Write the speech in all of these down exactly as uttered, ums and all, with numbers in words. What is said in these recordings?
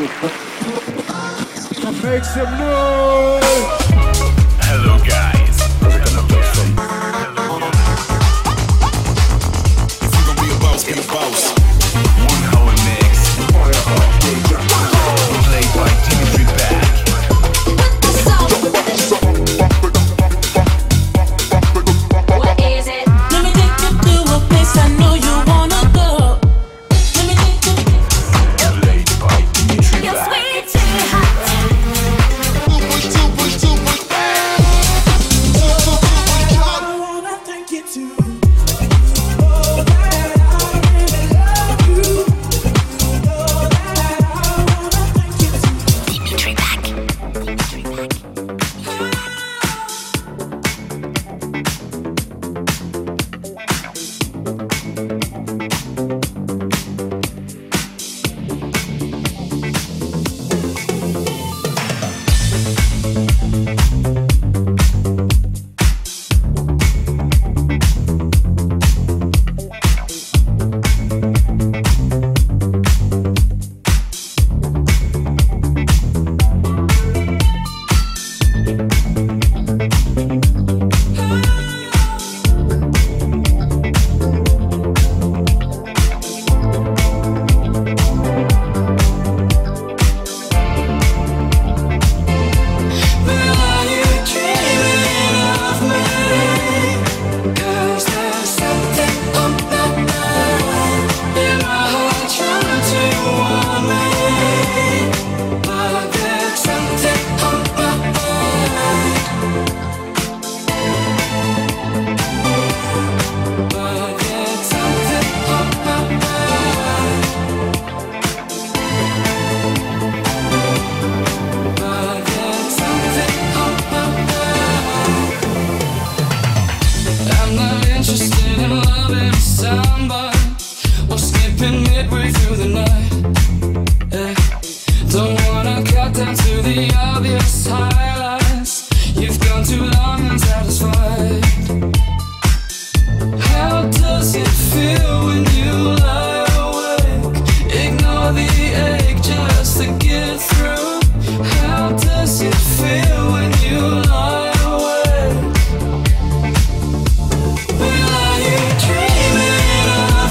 Make some noise! Hello guys. Hello guys. If you gon' be a boss, be a boss. One hour mix. Played by Dimitri Back. What is it? Let me take you to a place I know you wanna go. Let me take you. Played by Dimitri You're Back. sweet, too hot. I wanna take you to. Know that I really love you. Know that I wanna take you to. Dimitri Back. Dimitri Back. I'm not interested in loving somebody or skipping midway through the night. Eh, don't wanna cut down to the obvious highlights. You've gone too long unsatisfied. How does it feel when you lie awake? Ignore the ache just to get through. How does it feel when you lie awake? Will I you dreaming of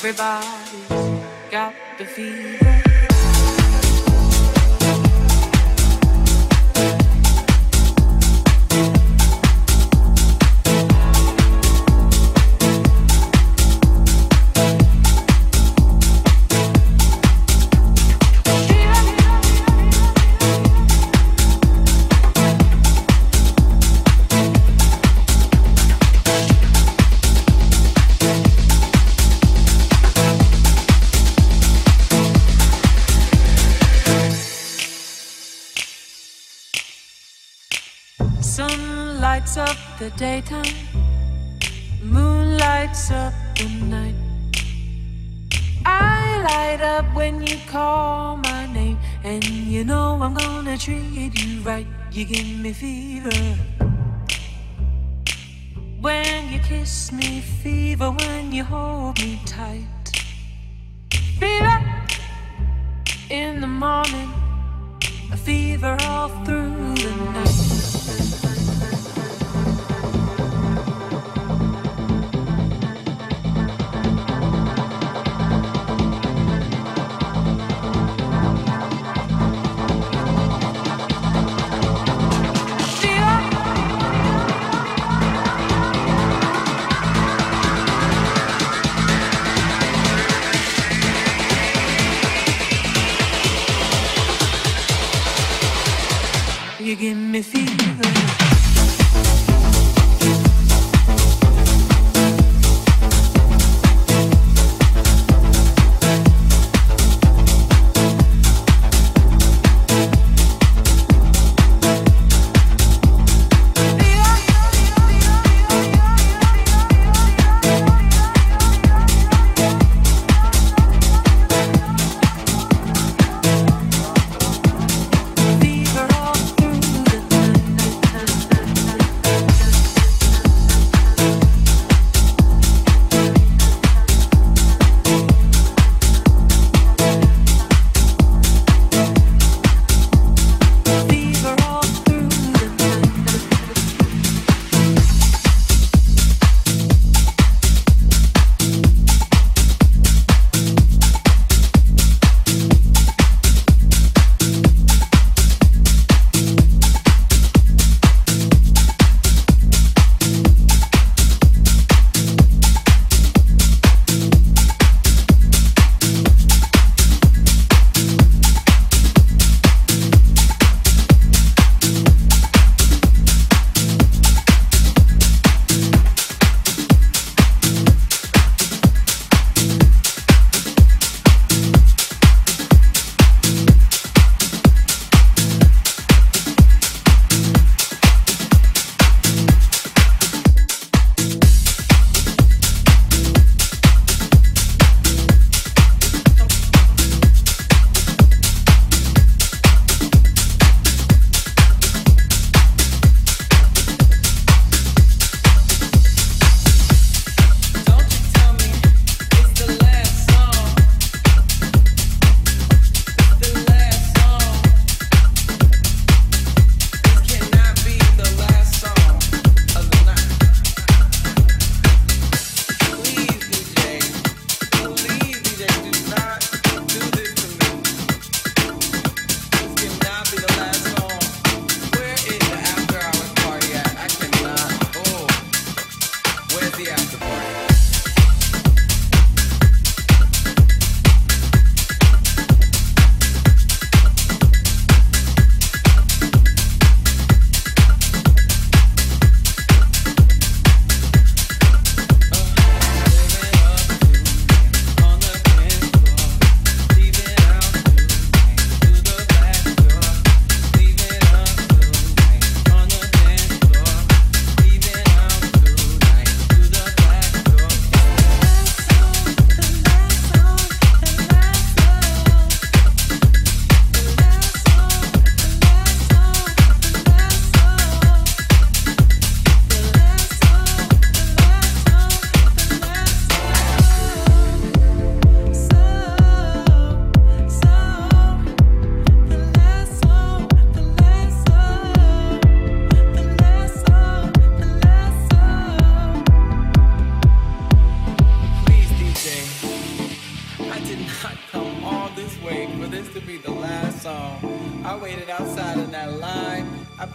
Everybody's got the fever. Sun lights up the daytime, moon lights up the night. I light up when you call my name, and you know I'm gonna treat you right. You give me fever when you kiss me, fever when you hold me tight. Fever in the morning, a fever all through the night. You give me fever.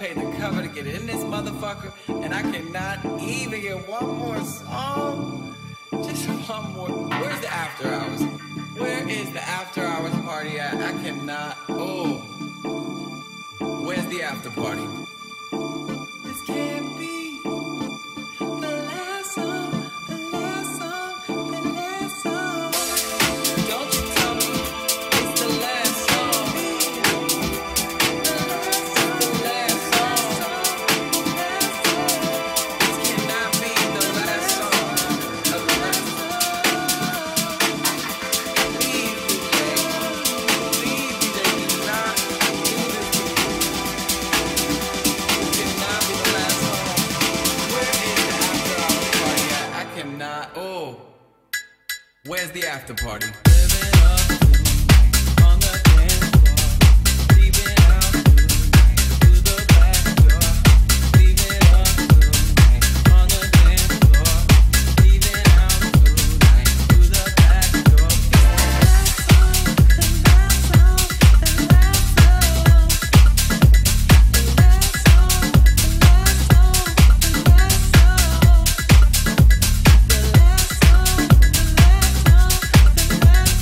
paid the cover to get in this motherfucker, and I cannot even get one more song. Just one more. Where's the after hours? Where is the after hours party at? I cannot. Oh. Where's the after party? This can't be the last song, the last song, the last song. Don't you tell me it's the last song. The last song. This cannot be the last song. The last song. Please, D J. Please, D J, do not do this to me. This cannot be the last song. Where is the after hours party at? I cannot. Oh. Where's the after party? Living up on the dance floor, leaving out to the back door. Leaving up on the dance floor, leaving out to the back door. The last song, the last song, the last song, the last song, the last song.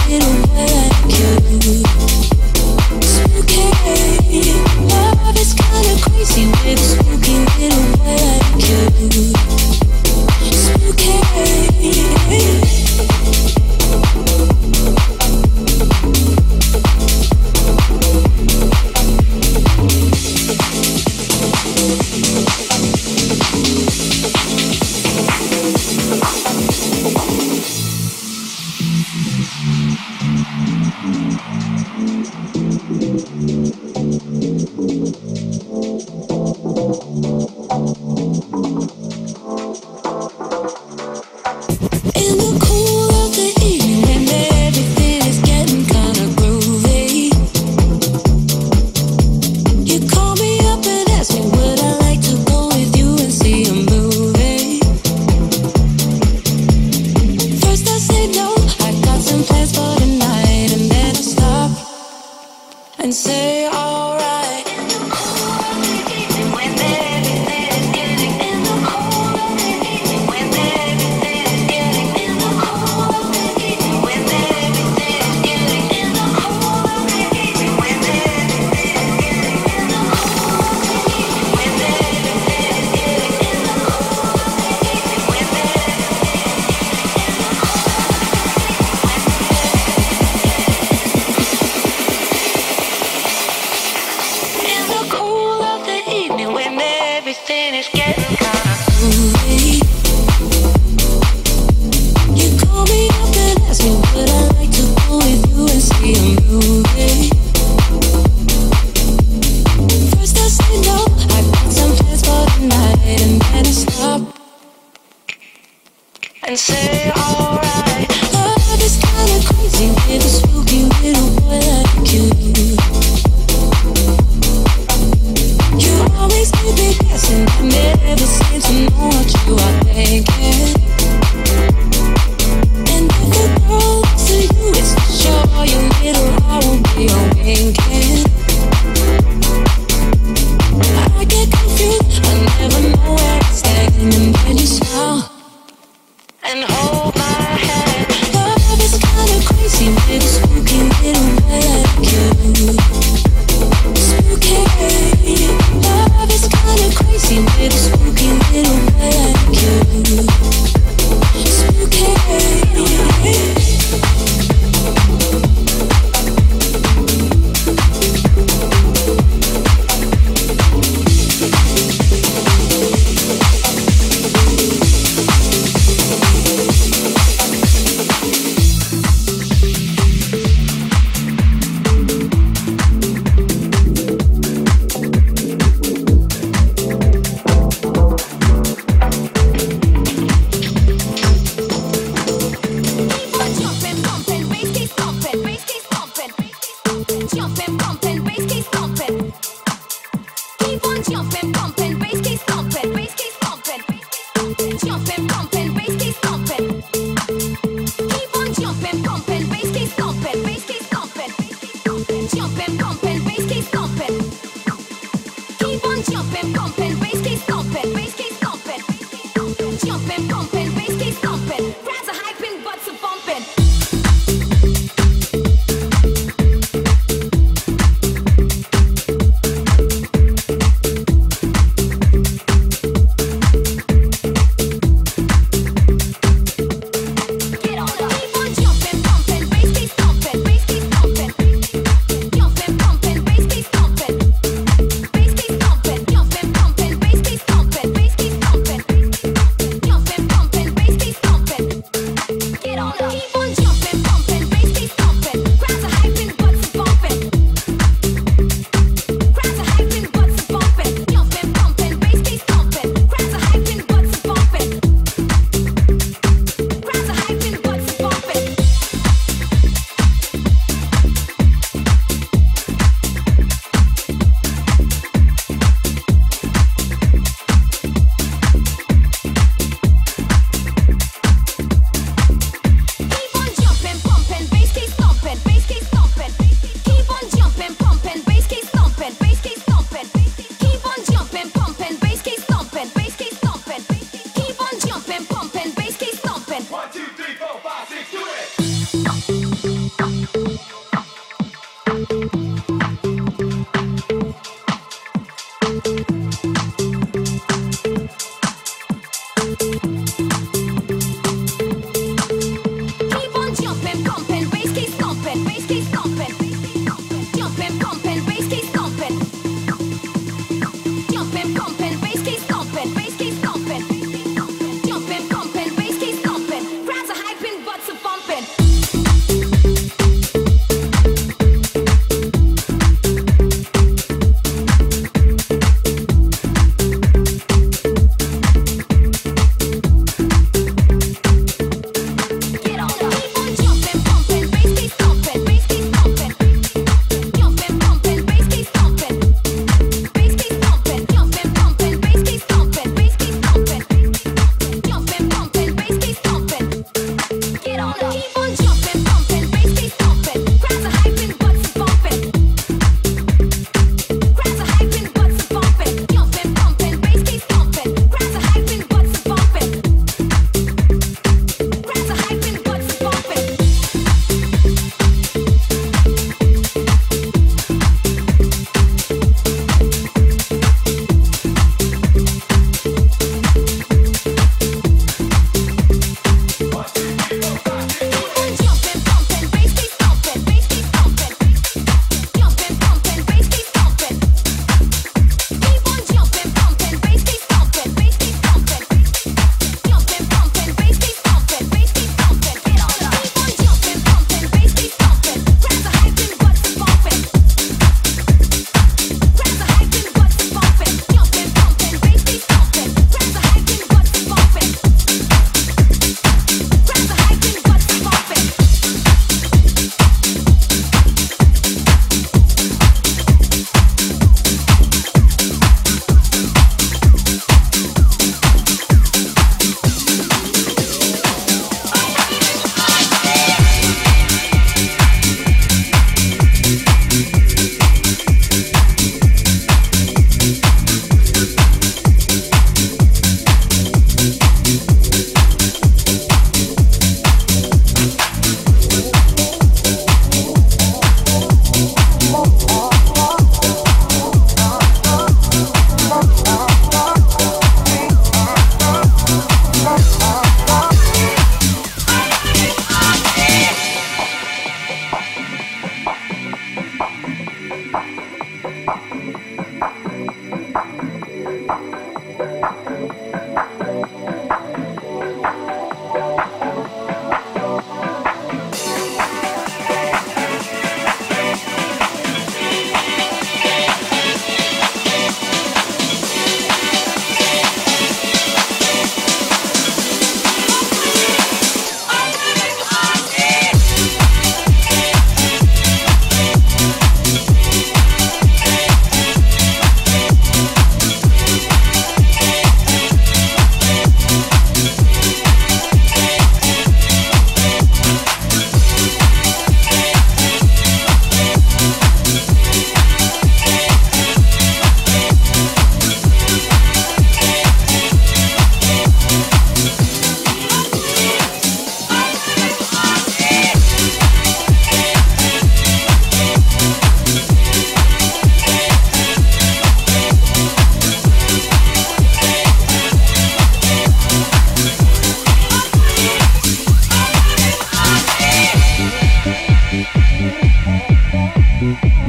little boy like you. Spooky, love is kinda crazy with a spooky little boy like you. Spooky.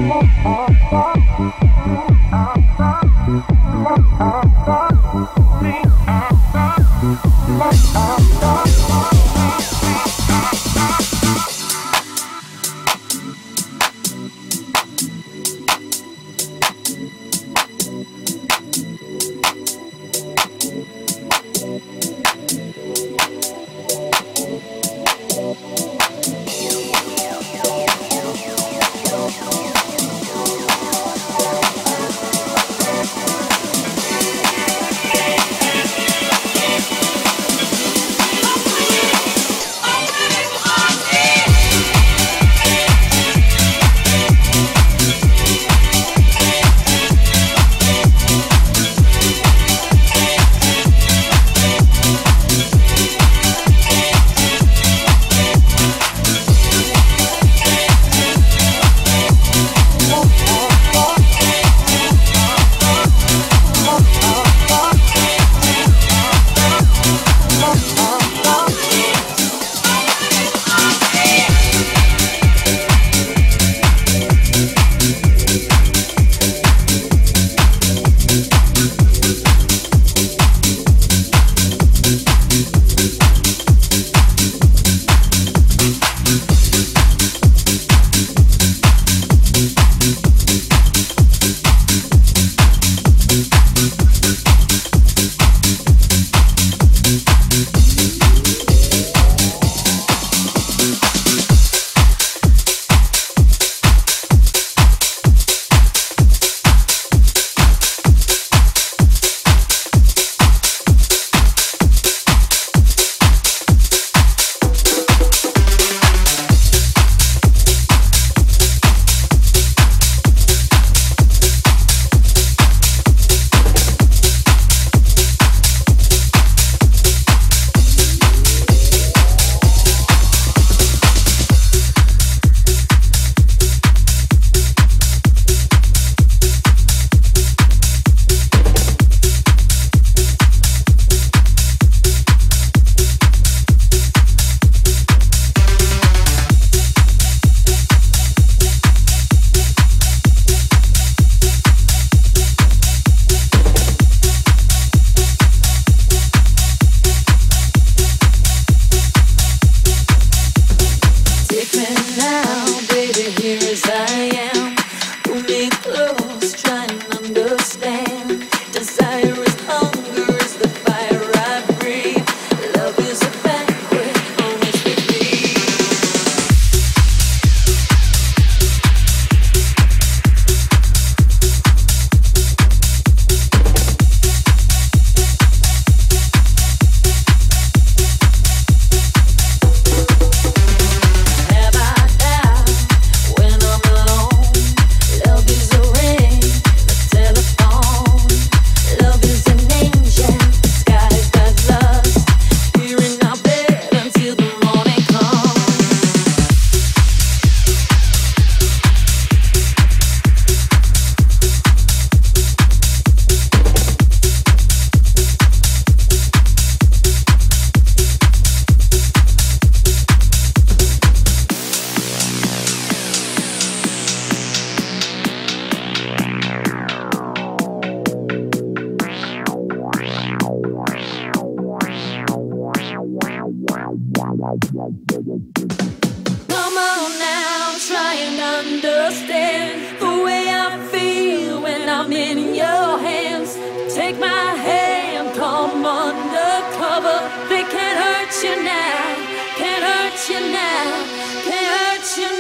Come on now, try and understand the way I feel when I'm in your hands. Take my hand, come undercover. They can't hurt you now, can't hurt you now, can't hurt you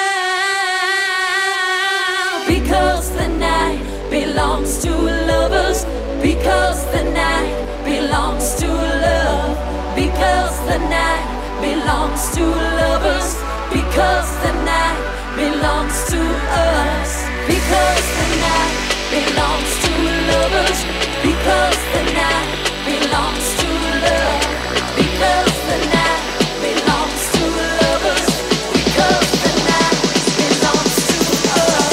now. Because the night belongs to lovers. Because the night belongs to love. Because the night belongs to lovers. Because the night belongs to us. Because the night belongs to lovers. Because the night belongs to love. Because the night belongs to lovers. Because the night belongs to us.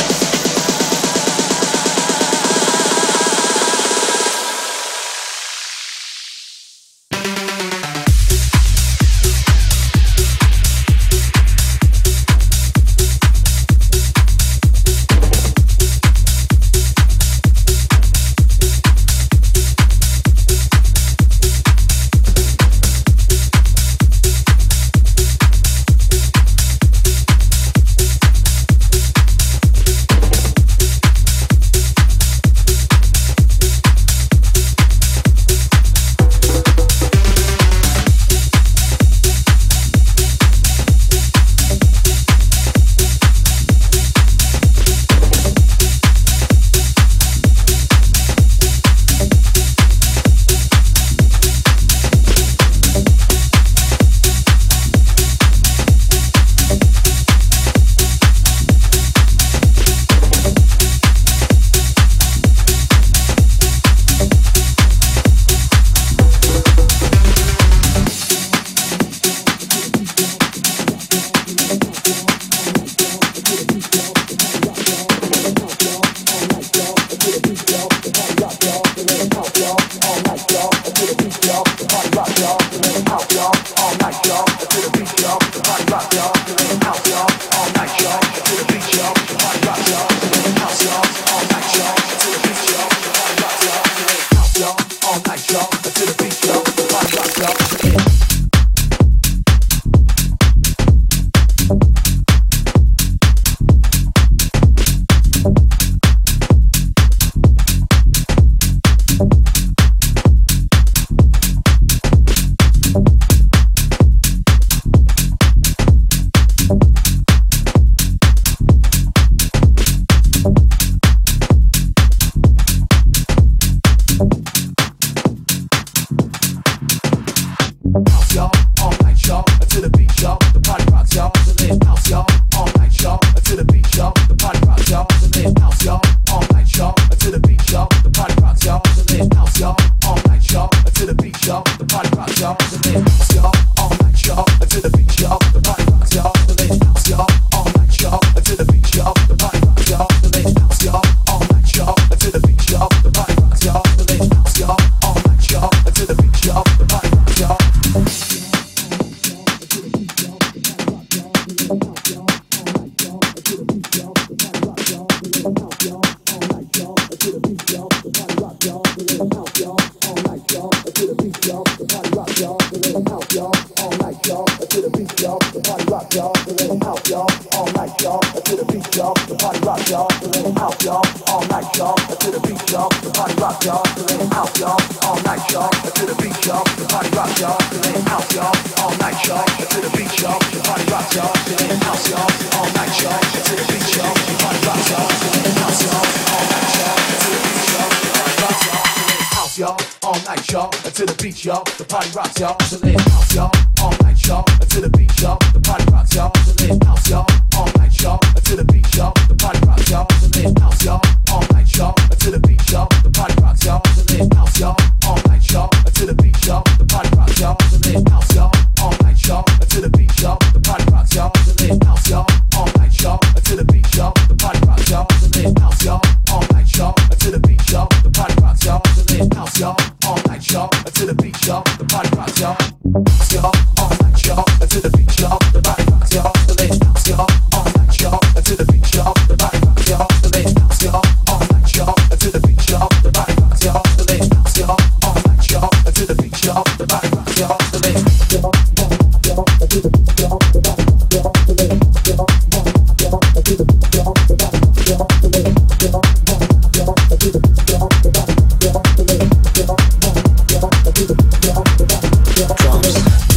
all night, y'all. To the beat, y'all. The party rock, y'all. So let it out, y'all. All night, y'all. To the beat, y'all. The party rock, y'all. So let it out, y'all. All night, y'all. To the beat, y'all. The party rock, y'all. So let it out, y'all. All night, y'all. To the beat, y'all. The party rock, y'all. So let it out, y'all. All night, y'all. To the beat, y'all. The party rock, y'all. So let it out, y'all. All night, y'all. To the beat, y'all. The party rock, y'all. Y'all, all night, y'all, to the beat, y'all, the party rocks, y'all, so let it house, y'all, all night, y'all, to the beat, y'all, the party rocks, y'all, so let it house, y'all, all night, y'all, to the beat, y'all, the party rocks, y'all, so let it house, y'all, all night, y'all, to the beat, y'all, the party rocks, y'all, so let it house, y'all, all night, y'all, to the beat, y'all, the party rocks, y'all, so let it house, y'all, all night, y'all, to the beat, y'all, the party rocks, y'all, so let it house, y'all, all night, y'all, to the beat, y'all, the party rocks, y'all, so let it house, y'all, all night, y'all, to the beat, y'all, the party rocks, y'all, so let it house, y'all, all night, y'all, to the beat, y'all, the party rocks, y'all, y'all, all night, y'all, to the beat, y'all, the body rocks, y'all, so let it house, y'all, all night, y'all, to the beat, y'all, the body rocks, y'all, so let it house, y'all, all night, y'all, to the beat, y'all, the body rocks, y'all, so let it house, y'all, all night, y'all, to the beat, y'all, the body rocks, y'all, so let it house, y'all, y'all, to the beat, y'all, the body rocks, y'all, so let it house, y'all, y'all, to the beat, y'all, the body rocks, y'all, so let it house, y'all, y'all, to the beat, y'all, the body rocks, y'all, so let it house, y'all, y'all, to the beat, y'all, the body rocks, y'all, drums.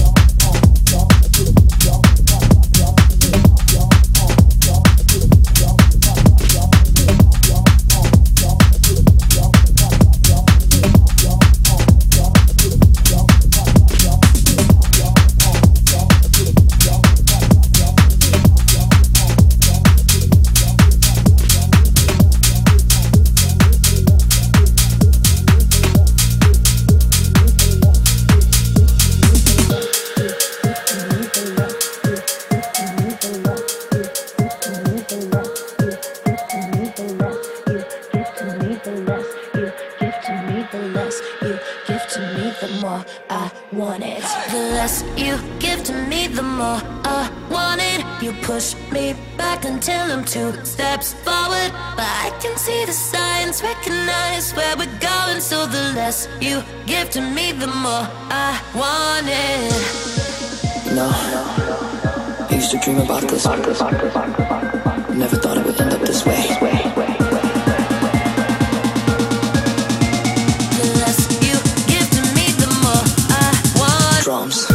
Until I'm two steps forward, but I can see the signs, recognize where we're going. So the less you give to me, the more I want it. You know, I used to dream about this. Never thought it would end up this way. The less you give to me, the more I want. Drums.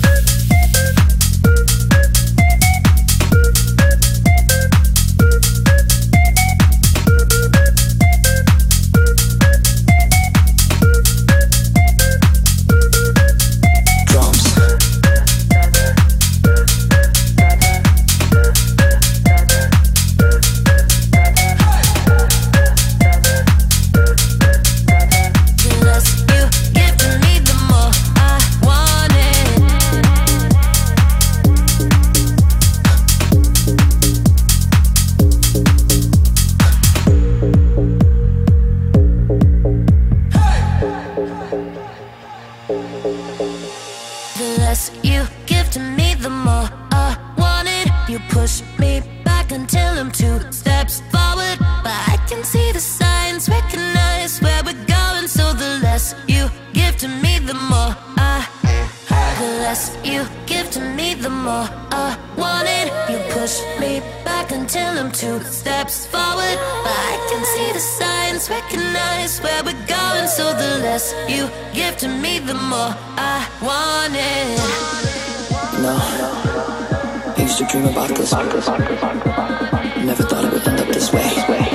Dream about this. Never thought it would end up this way.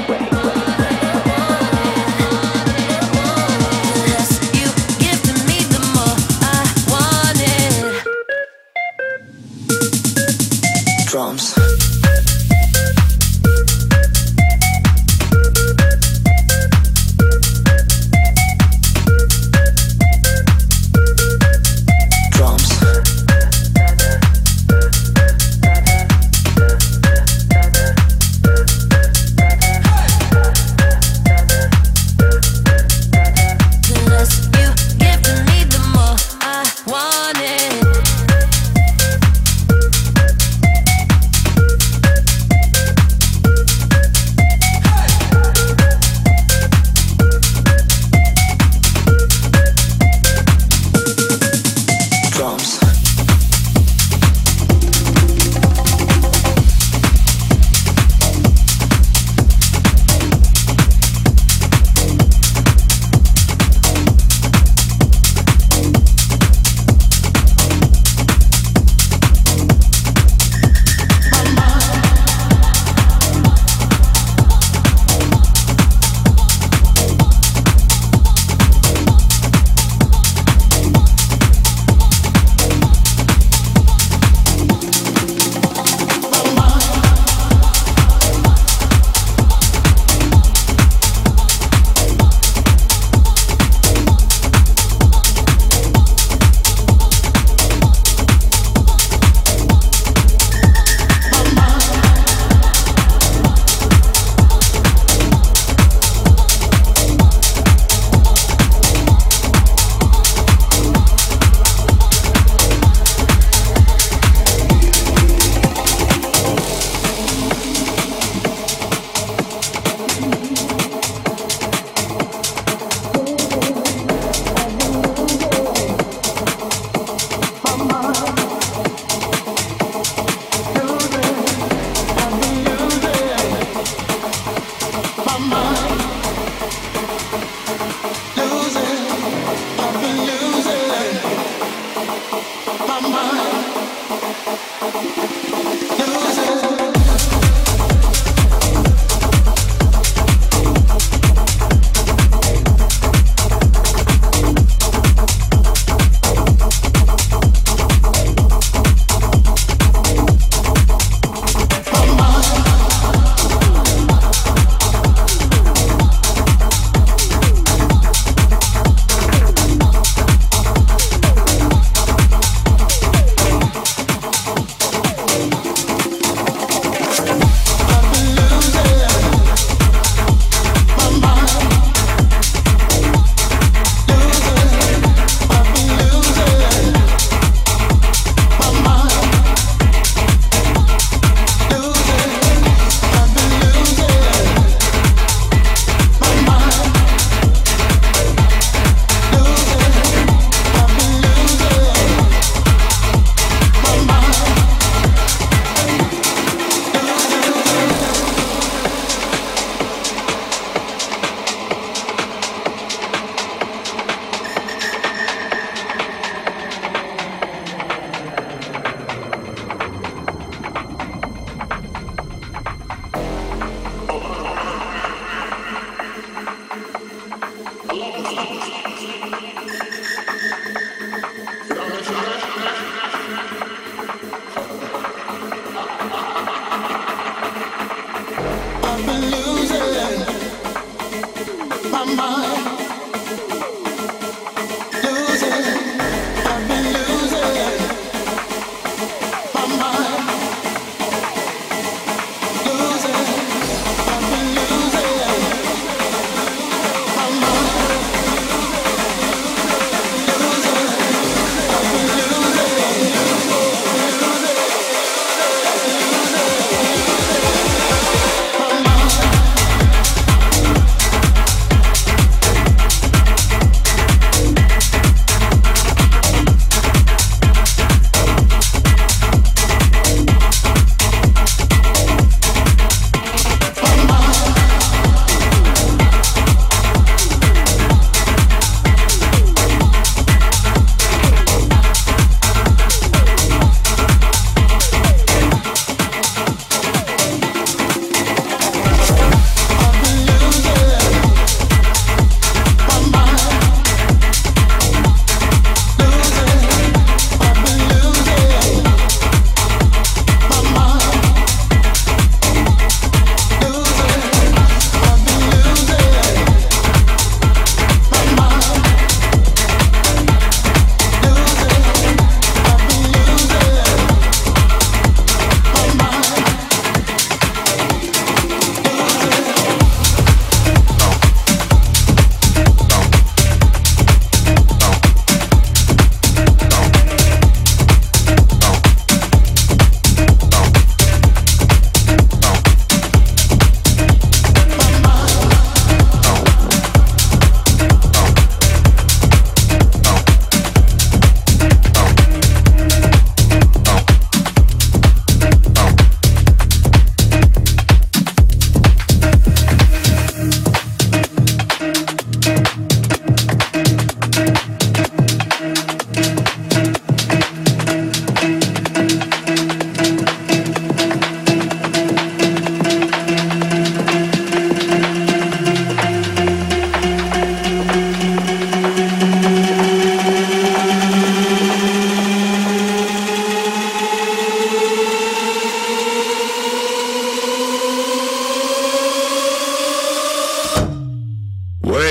Drums.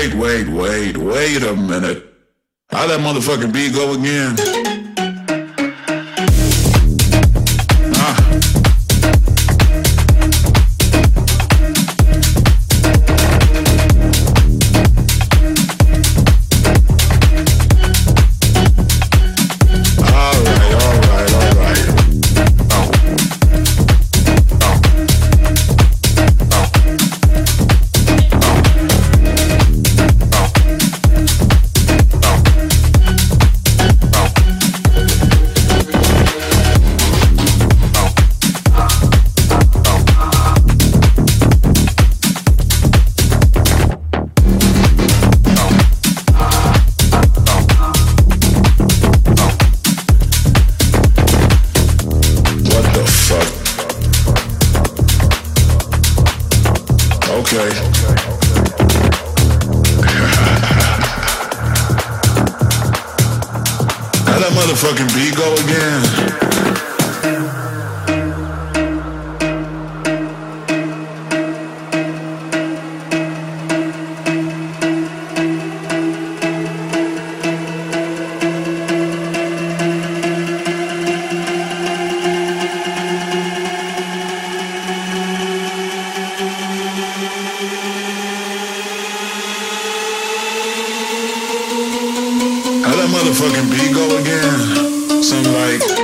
wait, wait, wait, wait a minute. How that motherfucking beat go again? Ah. All right, all right, all right. Oh. Oh. Oh. What the fuck? Okay. How that motherfucking beat go again? How that motherfucking beat go again? Something like